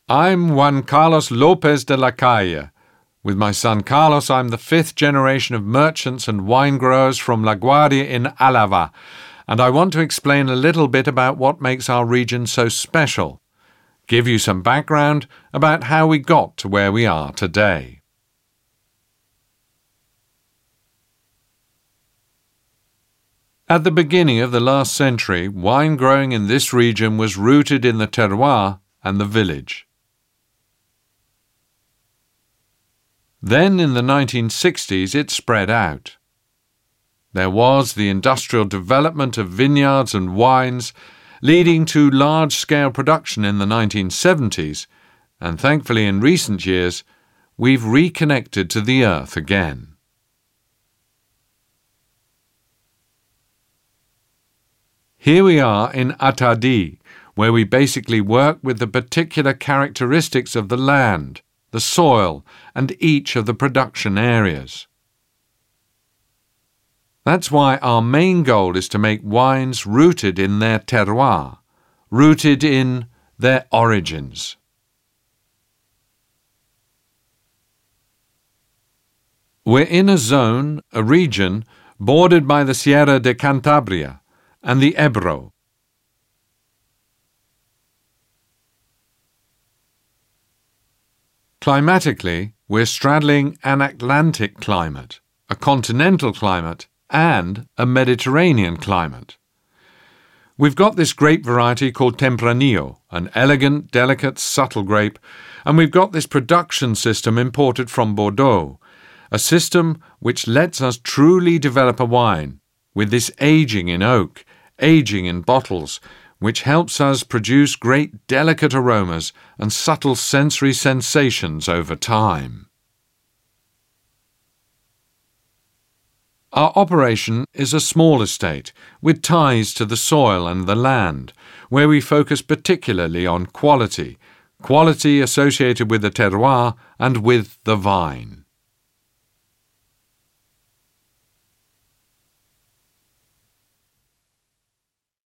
I'm Juan Carlos Lopez de la Calle. With my son Carlos, I'm the 5th generation of merchants and wine growers from La Guardia in Álava, and I want to explain a little bit about what makes our region so special. Give you some background about how we got to where we are today. At the beginning of the last century, wine growing in this region was rooted in the terroir and the village. Then in the 1960s it spread out. There was the industrial development of vineyards and wines, leading to large-scale production in the 1970s, and thankfully in recent years we've reconnected to the earth again. Here we are in Atadi, where we basically work with the particular characteristics of the land, the soil, and each of the production areas. That's why our main goal is to make wines rooted in their terroir, rooted in their origins. We're in a zone, a region, bordered by the Sierra de Cantabria and the Ebro. Climatically, we're straddling an Atlantic climate, a continental climate, and a Mediterranean climate. We've got this grape variety called Tempranillo, an elegant, delicate, subtle grape, and we've got this production system imported from Bordeaux, a system which lets us truly develop a wine, with this aging in oak, aging in bottles, which helps us produce great delicate aromas and subtle sensory sensations over time. Our operation is a small estate with ties to the soil and the land, where we focus particularly on quality associated with the terroir and with the vine.